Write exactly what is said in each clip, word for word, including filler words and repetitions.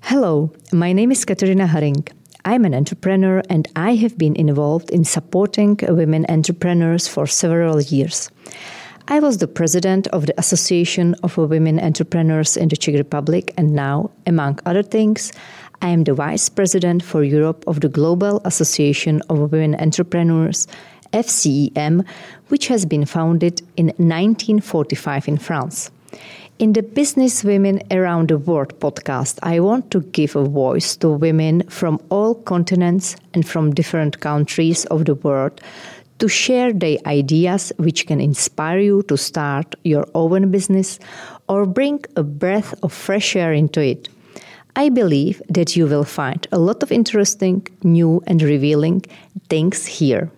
Hello, my name is Katarina Haring. I'm an entrepreneur and I have been involved in supporting women entrepreneurs for several years. I was the president of the Association of Women Entrepreneurs in the Czech Republic, and now, among other things, I am the vice president for Europe of the Global Association of Women Entrepreneurs, F C E M, which has been founded in nineteen forty-five in France. In the Business Women Around the World podcast, I want to give a voice to women from all continents and from different countries of the world to share their ideas which can inspire you to start your own business or bring a breath of fresh air into it. I believe that you will find a lot of interesting, new and revealing things here.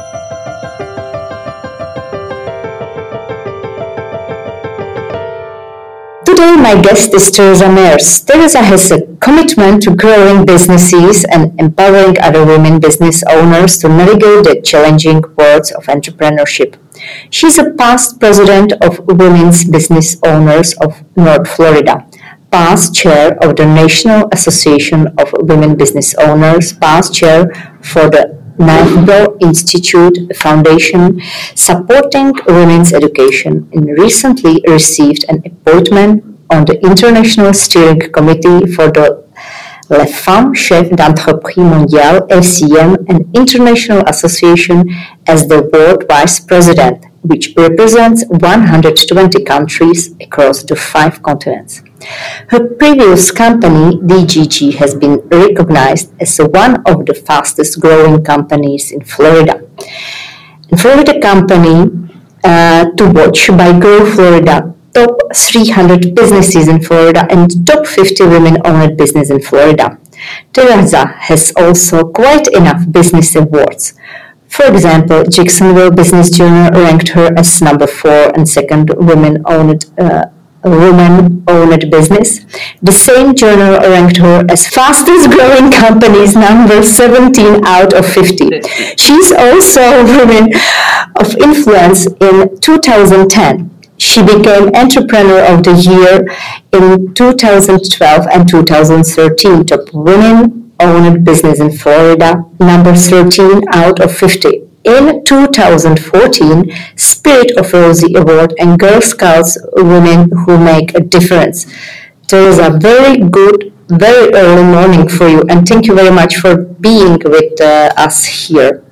Today, my guest is Teresa Mers. Teresa has a commitment to growing businesses and empowering other women business owners to navigate the challenging worlds of entrepreneurship. She's a past president of Women's Business Owners of North Florida, past chair of the National Association of Women Business Owners, past chair for the National Institute Foundation supporting women's education, and recently received an appointment on the International Steering Committee for the Les Femmes Chefs d'Entreprise Mondiale, F C E M, an international association, as the world vice president, which represents one hundred twenty countries across the five continents. Her previous company, D G G, has been recognized as one of the fastest growing companies in Florida. And Florida company uh, to watch by Grow Florida, top three hundred businesses in Florida and top fifty women-owned business in Florida. Teresa has also quite enough business awards. For example, Jacksonville Business Journal ranked her as number four and second women-owned uh, woman-owned business. The same journal ranked her as fastest growing companies number seventeen out of fifty. She's also a woman of influence in two thousand ten. She became Entrepreneur of the Year in two thousand twelve and two thousand thirteen, top women-owned business in Florida, number thirteen out of fifty. In two thousand fourteen, Spirit of Rosie Award and Girl Scouts Women Who Make a Difference. Teresa, very good, very early morning for you, and thank you very much for being with uh, us here.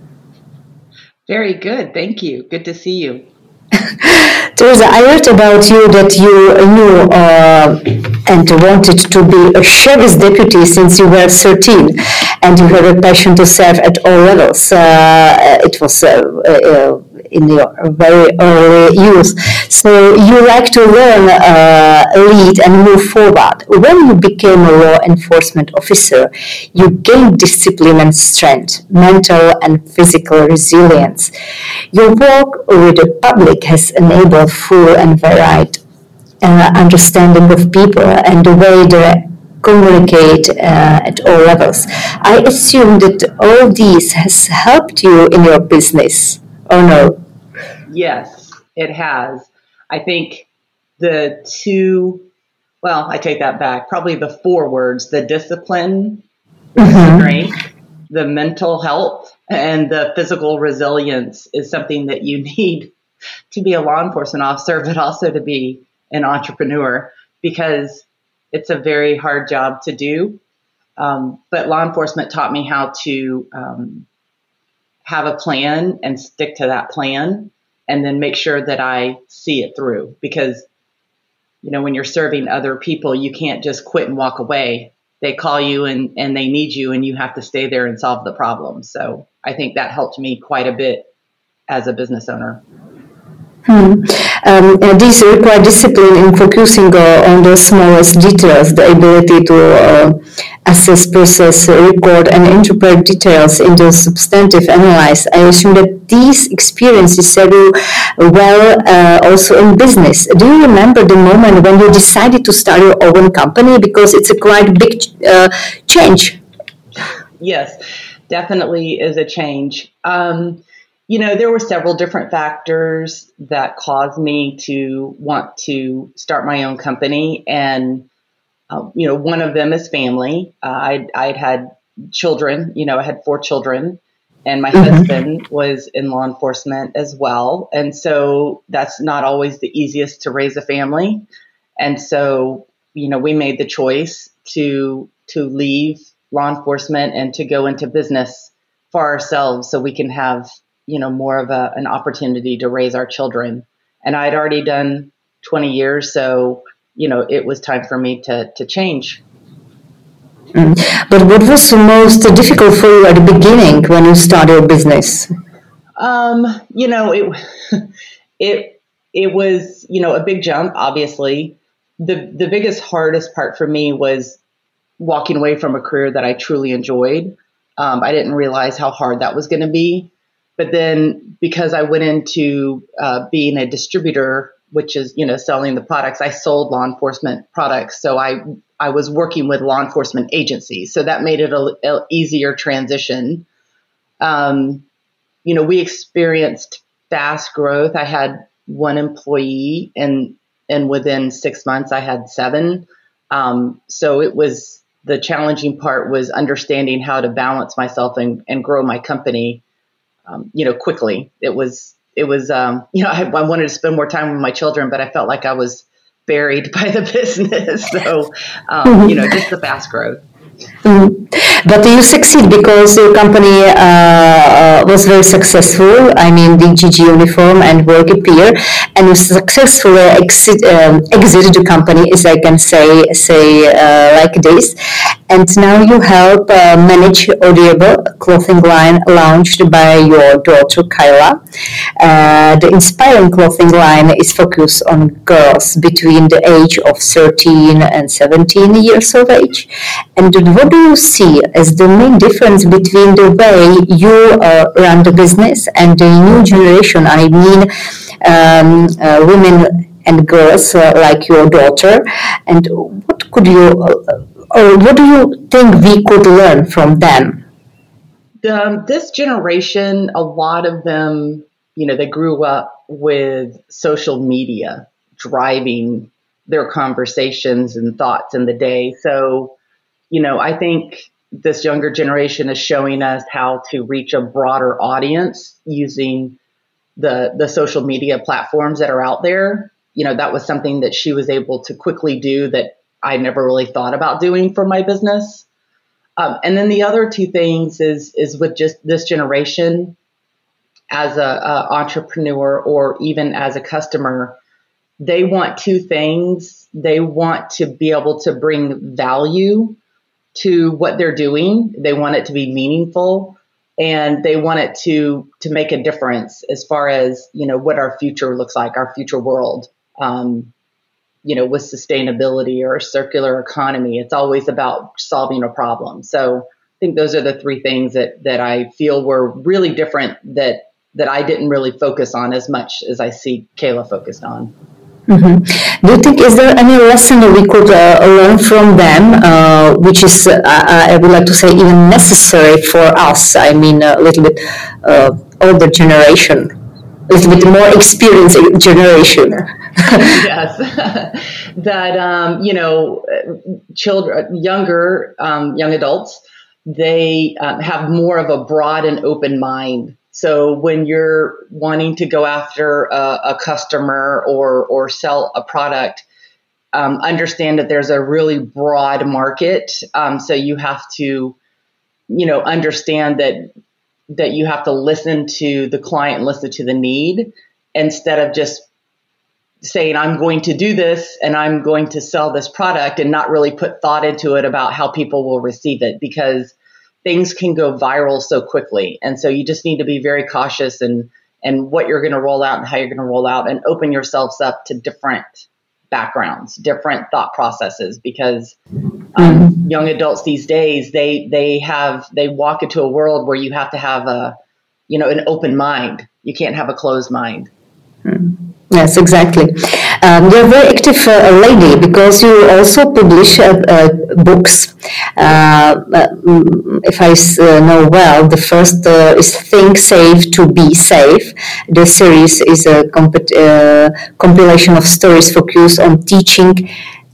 Very good, thank you. Good to see you. Teresa, I heard about you that you knew uh, and wanted to be a sheriff's deputy since you were thirteen, and you had a passion to serve at all levels. Uh, it was uh, uh, in your very early youth. So you like to learn, uh, lead, and move forward. When you became a law enforcement officer, you gained discipline and strength, mental and physical resilience. Your work with the public has enabled full and varied uh, understanding of people and the way they communicate uh, at all levels. I assume that all these has helped you in your business, or no? Yes, it has. I think the two, well, I take that back, probably the four words, the discipline, the mm-hmm. strength, the mental health, and the physical resilience is something that you need to be a law enforcement officer, but also to be an entrepreneur, because it's a very hard job to do. Um, but law enforcement taught me how to um, have a plan and stick to that plan, and then make sure that I see it through. Because, you know, when you're serving other people, you can't just quit and walk away. They call you and, and they need you, and you have to stay there and solve the problem. So I think that helped me quite a bit as a business owner. Hmm. Um, and these require discipline in focusing uh, on the smallest details, the ability to uh, assess, process, record, and interpret details into substantive analysis. I assume that these experiences serve you well uh, also in business. Do you remember the moment when you decided to start your own company? Because it's a quite big uh, change. Yes, definitely is a change. Um, You know, there were several different factors that caused me to want to start my own company. And Uh, you know, one of them is family. Uh, I I'd had children. You know, I had four children, and my mm-hmm. husband was in law enforcement as well. And so that's not always the easiest to raise a family. And so, you know, we made the choice to to leave law enforcement and to go into business for ourselves, so we can have, you know, more of a, an opportunity to raise our children. And I'd already done twenty years, so, you know, it was time for me to, to change. Mm. But what was the most difficult for you at the beginning when you started your business? Um, you know, it, it, it was, you know, a big jump, obviously. The, the biggest, hardest part for me was walking away from a career that I truly enjoyed. Um, I didn't realize how hard that was going to be. But then because I went into uh, being a distributor, which is, you know, selling the products, I sold law enforcement products. So I I was working with law enforcement agencies. So that made it a, a easier transition. Um, you know, we experienced fast growth. I had one employee, and and within six months I had seven. Um, so it was, the challenging part was understanding how to balance myself and, and grow my company, um, you know, quickly. It was, it was, um, you know, I, I wanted to spend more time with my children, but I felt like I was buried by the business. So, um, you know, just the fast growth. Mm. But you succeed because your company uh, was very successful. I mean, the G G uniform and work appear, and you successfully exit, um, exited the company, as I can say, say uh, like this. And now you help uh, manage Audible, a clothing line launched by your daughter Kyla. Uh, the inspiring clothing line is focused on girls between the age of thirteen and seventeen years of age. And what do you see as the main difference between the way you uh, run the business and the new generation? I mean, um, uh, women and girls uh, like your daughter. And what could you, uh, or what do you think we could learn from them? Um, this generation, a lot of them, you know, they grew up with social media driving their conversations and thoughts in the day. So, you know, I think this younger generation is showing us how to reach a broader audience using the the social media platforms that are out there. You know, that was something that she was able to quickly do that I never really thought about doing for my business. Um, and then the other two things is is with just this generation as a, a entrepreneur or even as a customer, they want two things. They want to be able to bring value to what they're doing. They want it to be meaningful, and they want it to to make a difference as far as, you know, what our future looks like, our future world. Um, you know, with sustainability or a circular economy, it's always about solving a problem. So I think those are the three things that that I feel were really different that that I didn't really focus on as much as I see Kayla focused on. Mm-hmm. Do you think, is there any lesson that we could uh, learn from them, uh, which is, uh, I would like to say, even necessary for us? I mean, a little bit uh, older generation, a little bit more experienced generation. Yes, that um, you know, children, younger um, young adults, they um, have more of a broad and open mind. So when you're wanting to go after a, a customer or or sell a product, um, understand that there's a really broad market. Um, so you have to, you know, understand that that you have to listen to the client, listen to the need, instead of just saying, I'm going to do this and I'm going to sell this product, and not really put thought into it about how people will receive it, because things can go viral so quickly. And so you just need to be very cautious and and what you're going to roll out and how you're going to roll out, and open yourselves up to different backgrounds, different thought processes, because um, mm-hmm. young adults these days, they they have they walk into a world where you have to have a, you know, an open mind. You can't have a closed mind. Mm-hmm. Yes, exactly. Um, you're a very active uh, lady, because you also publish uh, uh, books. Uh, if I uh, know well, the first uh, is Think Safe to Be Safe. The series is a comp- uh, compilation of stories focused on teaching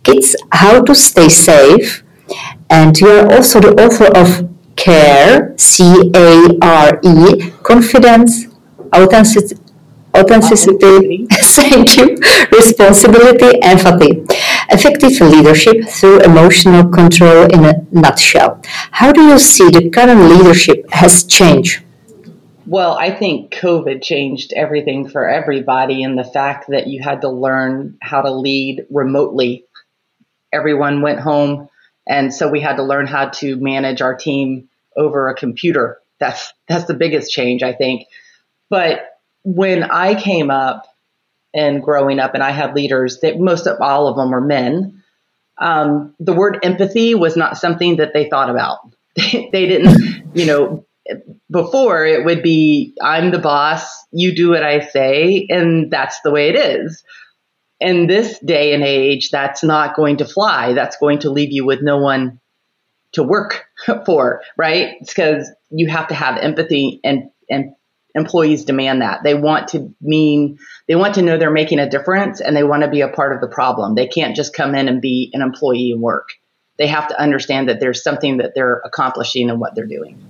It's How to Stay Safe, and you are also the author of CARE, C A R E, Confidence, Authenticity, Authenticity, thank you, Responsibility, Empathy, Effective Leadership Through Emotional Control in a Nutshell. How do you see the current leadership has changed? Well, I think COVID changed everything for everybody, and the fact that you had to learn how to lead remotely. Everyone went home, and so we had to learn how to manage our team over a computer. That's that's the biggest change, I think. But when I came up and growing up, and I had leaders that most of all of them are men, um, the word empathy was not something that they thought about. They, they didn't, you know, before it would be, I'm the boss, you do what I say, and that's the way it is. In this day and age, that's not going to fly. That's going to leave you with no one to work for, right? It's because you have to have empathy, and, and employees demand that. They want to mean, they want to know they're making a difference, and they want to be a part of the problem. They can't just come in and be an employee and work. They have to understand that there's something that they're accomplishing in what they're doing.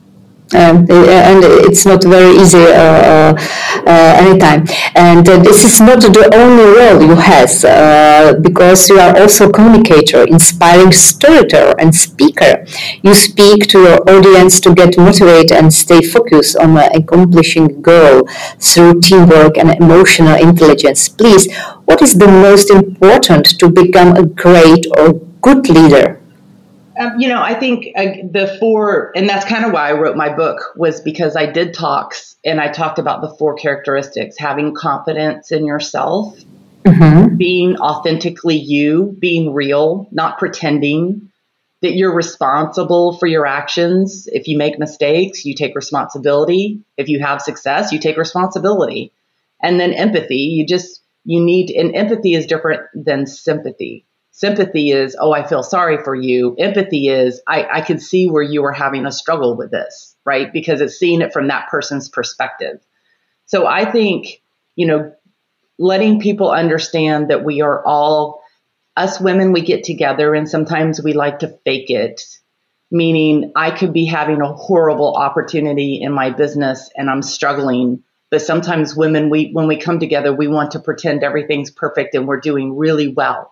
Um, and it's not very easy uh, uh, anytime. And uh, this is not the only role you have, uh, because you are also a communicator, inspiring storyteller, and speaker. You speak to your audience to get motivated and stay focused on uh, accomplishing a goal through teamwork and emotional intelligence. Please, what is the most important to become a great or good leader? Um, you know, I think uh, the four, and that's kind of why I wrote my book, was because I did talks and I talked about the four characteristics: having confidence in yourself, mm-hmm. being authentically you, being real, not pretending, that you're responsible for your actions. If you make mistakes, you take responsibility. If you have success, you take responsibility. And then empathy, you just, you need, and empathy is different than sympathy. Sympathy is, oh, I feel sorry for you. Empathy is, I, I can see where you are having a struggle with this, right? Because it's seeing it from that person's perspective. So I think, you know, letting people understand that we are all, us women, we get together and sometimes we like to fake it. Meaning I could be having a horrible opportunity in my business and I'm struggling. But sometimes women, we when we come together, we want to pretend everything's perfect and we're doing really well.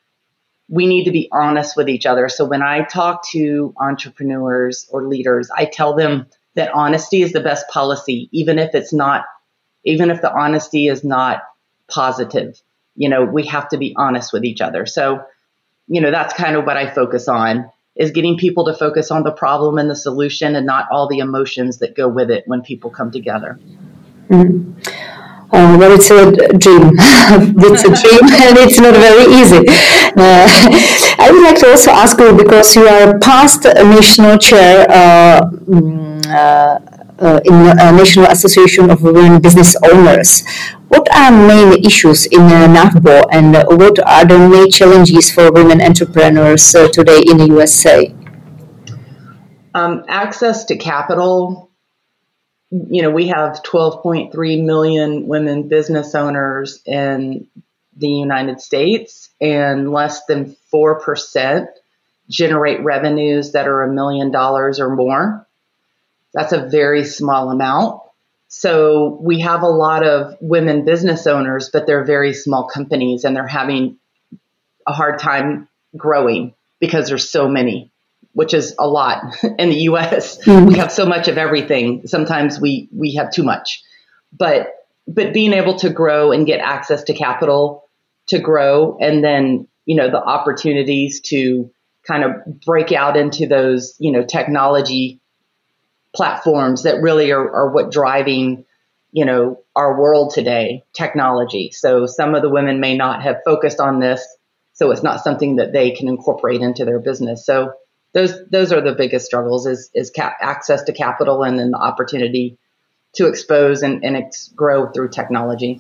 We need to be honest with each other. So when I talk to entrepreneurs or leaders, I tell them that honesty is the best policy, even if it's not, even if the honesty is not positive. You know, we have to be honest with each other. So, you know, that's kind of what I focus on, is getting people to focus on the problem and the solution and not all the emotions that go with it when people come together. Mm. Uh, well, it's a dream. It's a dream, and it's not very easy. Uh, I would like to also ask you, because you are past national chair uh, uh, uh, in the National Association of Women Business Owners. What are main issues in uh, NAFBO, and uh, what are the main challenges for women entrepreneurs uh, today in the U S A? Um, access to capital. You know, we have twelve point three million women business owners in the United States, and less than four percent generate revenues that are a million dollars or more. That's a very small amount. So we have a lot of women business owners, but they're very small companies and they're having a hard time growing because there's so many, which is a lot in the U S. Mm-hmm. We have so much of everything. Sometimes we, we have too much, but, but being able to grow and get access to capital to grow, and then, you know, the opportunities to kind of break out into those, you know, technology platforms that really are, are what driving, you know, our world today, technology. So some of the women may not have focused on this, so it's not something that they can incorporate into their business. So those those are the biggest struggles, is is cap- access to capital, and then the opportunity to expose and, and ex- grow through technology.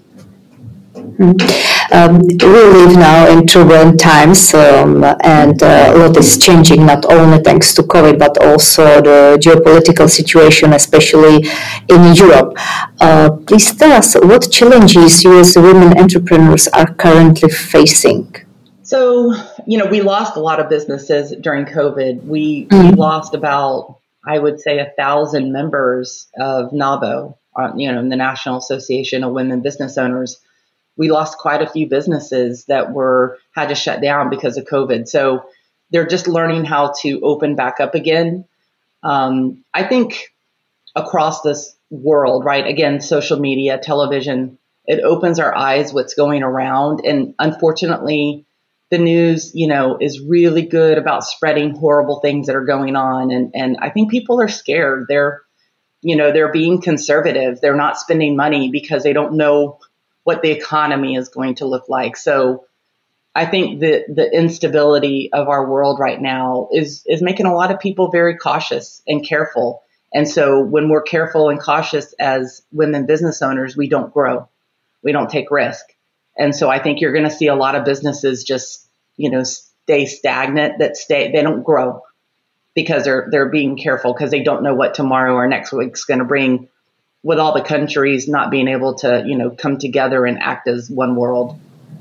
Um, we live now in turbulent times, um, and uh, a lot is changing, not only thanks to COVID, but also the geopolitical situation, especially in Europe. Uh, please tell us what challenges you as women entrepreneurs are currently facing. So, you know, we lost a lot of businesses during COVID. We, Mm. we lost about, I would say, a thousand members of NAWBO, uh, you know, the National Association of Women Business Owners. We lost quite a few businesses that were had to shut down because of COVID. So they're just learning how to open back up again. Um, I think across this world, right? Again, social media, television, it opens our eyes what's going around. And unfortunately, the news, you know, is really good about spreading horrible things that are going on. And, and I think people are scared. They're, you know, they're being conservative. They're not spending money because they don't know what the economy is going to look like. So I think that the instability of our world right now is, is making a lot of people very cautious and careful. And so when we're careful and cautious as women business owners, we don't grow. We don't take risk. And so I think you're going to see a lot of businesses just, you know, stay stagnant, that stay, they don't grow because they're, they're being careful because they don't know what tomorrow or next week's going to bring, with all the countries not being able to, you know, come together and act as one world.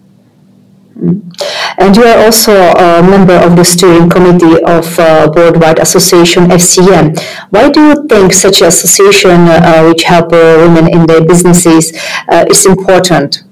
And you are also a member of the steering committee of uh, Worldwide Association F C M. Why do you think such an association, uh, which help uh, women in their businesses, uh, is important?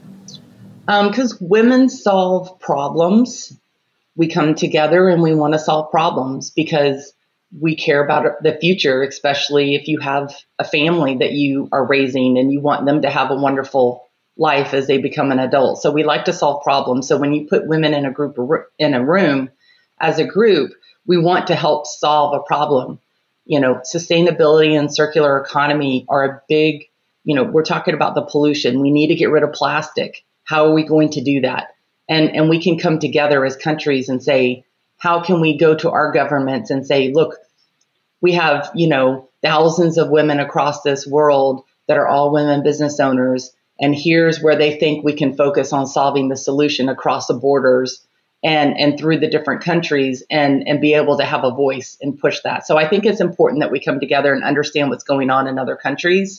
Because um, women solve problems. We come together and we want to solve problems because we care about the future, especially if you have a family that you are raising and you want them to have a wonderful life as they become an adult. So we like to solve problems. So when you put women in a group in a room as a group, we want to help solve a problem. You know, sustainability and circular economy are a big, you know, we're talking about the pollution. We need to get rid of plastic. How are we going to do that? And and we can come together as countries and say, how can we go to our governments and say, look, we have, you know, thousands of women across this world that are all women business owners. And here's where they think we can focus on solving the solution across the borders and, and through the different countries and, and be able to have a voice and push that. So I think it's important that we come together and understand what's going on in other countries.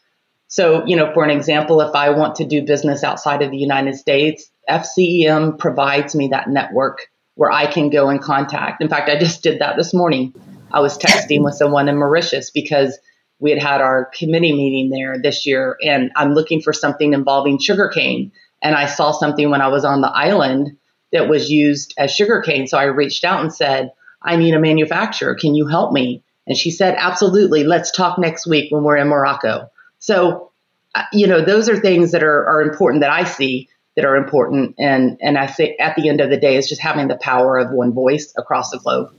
So, you know, for an example, if I want to do business outside of the United States, F C E M provides me that network where I can go and contact. In fact, I just did that this morning. I was texting with someone in Mauritius because we had had our committee meeting there this year, and I'm looking for something involving sugarcane. And I saw something when I was on the island that was used as sugarcane. So I reached out and said, I need a manufacturer. Can you help me? And she said, absolutely. Let's talk next week when we're in Morocco. So, you know, those are things that are, are important that I see that are important. And, and I think at the end of the day, it's just having the power of one voice across the globe.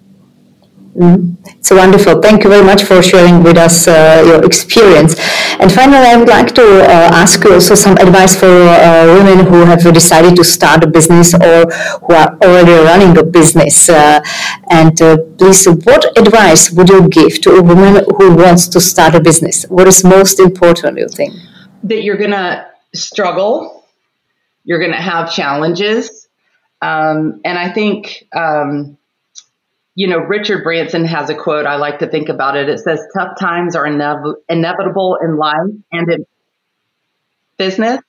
Mm, it's wonderful. Thank you very much for sharing with us uh, your experience. And finally, I would like to uh, ask you also some advice for uh, women who have decided to start a business or who are already running a business. Uh, and uh, please, what advice would you give to a woman who wants to start a business? What is most important, you think? That you're going to struggle. You're going to have challenges. Um, and I think... Um, You know, Richard Branson has a quote. I like to think about it. It says, tough times are inev- inevitable in life and in business,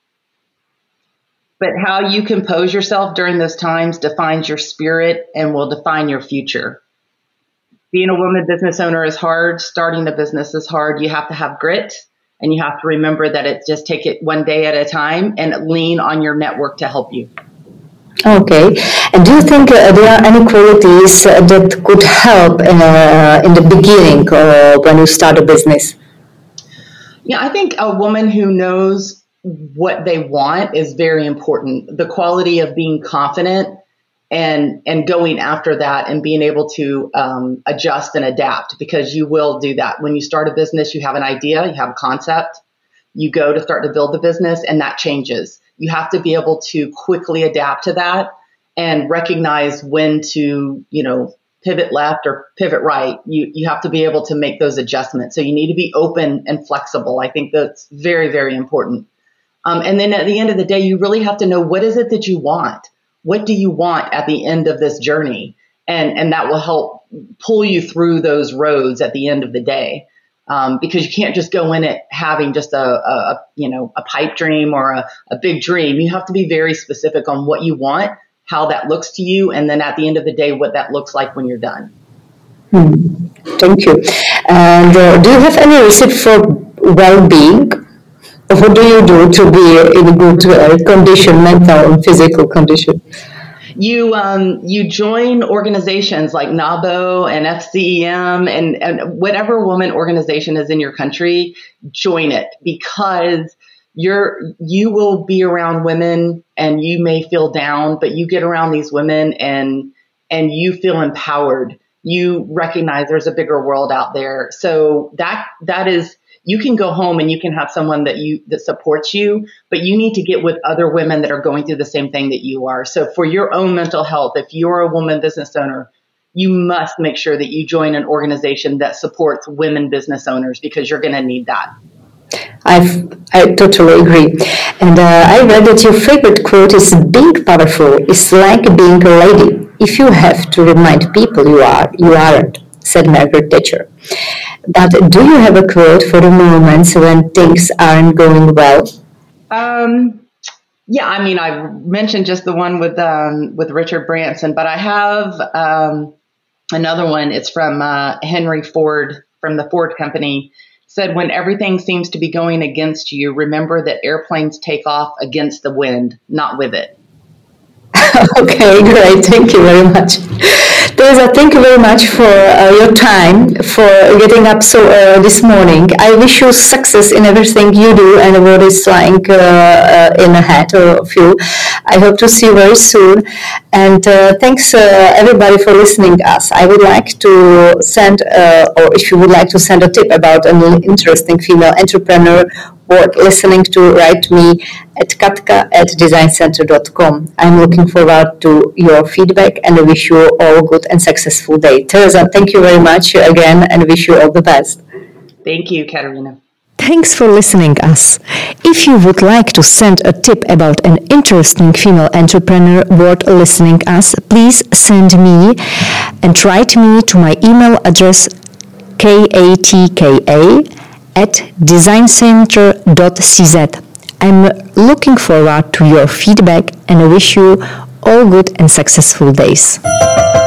but how you compose yourself during those times defines your spirit and will define your future. Being a woman business owner is hard. Starting a business is hard. You have to have grit, and you have to remember that it's just take it one day at a time and lean on your network to help you. Okay. And do you think uh, there are any qualities uh, that could help in, uh, in the beginning or when you start a business? Yeah, I think a woman who knows what they want is very important. The quality of being confident and and going after that and being able to um, adjust and adapt, because you will do that. When you start a business, you have an idea, you have a concept, you go to start to build the business, and that changes. You have to be able to quickly adapt to that and recognize when to, you know, pivot left or pivot right. You you have to be able to make those adjustments. So you need to be open and flexible. I think that's very, very important. Um, and then at the end of the day, you really have to know, what is it that you want? What do you want at the end of this journey? And, and that will help pull you through those roads at the end of the day. Um, because you can't just go in it having just a, a, a you know, a pipe dream or a, a big dream. You have to be very specific on what you want how that looks to you, and then at the end of the day, what that looks like when you're done. Hmm. Thank you. And uh, do you have any recipe for well-being? What do you do to be in a good uh, condition, mental and physical condition? You um, you join organizations like NABO and F C E M and, and whatever woman organization is in your country, join it, because you're you will be around women and you may feel down, but you get around these women and and you feel empowered. You recognize there's a bigger world out there. So that that is, you can go home and you can have someone that you that supports you, but you need to get with other women that are going through the same thing that you are. So for your own mental health, if you're a woman business owner, you must make sure that you join an organization that supports women business owners, because you're going to need that. I've, I totally agree. And uh, I read that your favorite quote is, being powerful is like being a lady. If you have to remind people you are, you aren't, said Margaret Thatcher. But do you have a quote for the moments when things aren't going well? Um, yeah, I mean, I mentioned just the one with um, with Richard Branson, but I have um, another one. It's from uh, Henry Ford, from the Ford Company. Said, when everything seems to be going against you, remember that airplanes take off against the wind, not with it. Okay, great. Thank you very much. Teresa, thank you very much for uh, your time, for getting up so early this morning. I wish you success in everything you do and what is lying uh, uh, in ahead of you. I hope to see you very soon. And uh, thanks uh, everybody for listening to us. I would like to send, uh, or if you would like to send a tip about an interesting female entrepreneur worth listening to, write me at katka at design center dot com. I'm looking forward to your feedback and I wish you all good and successful day. Teresa, thank you very much again and wish you all the best. Thank you, Katerina. Thanks for listening us. If you would like to send a tip about an interesting female entrepreneur worth listening us, please send me and write me to my email address katka at design center dot c z. I'm looking forward to your feedback and I wish you all good and successful days.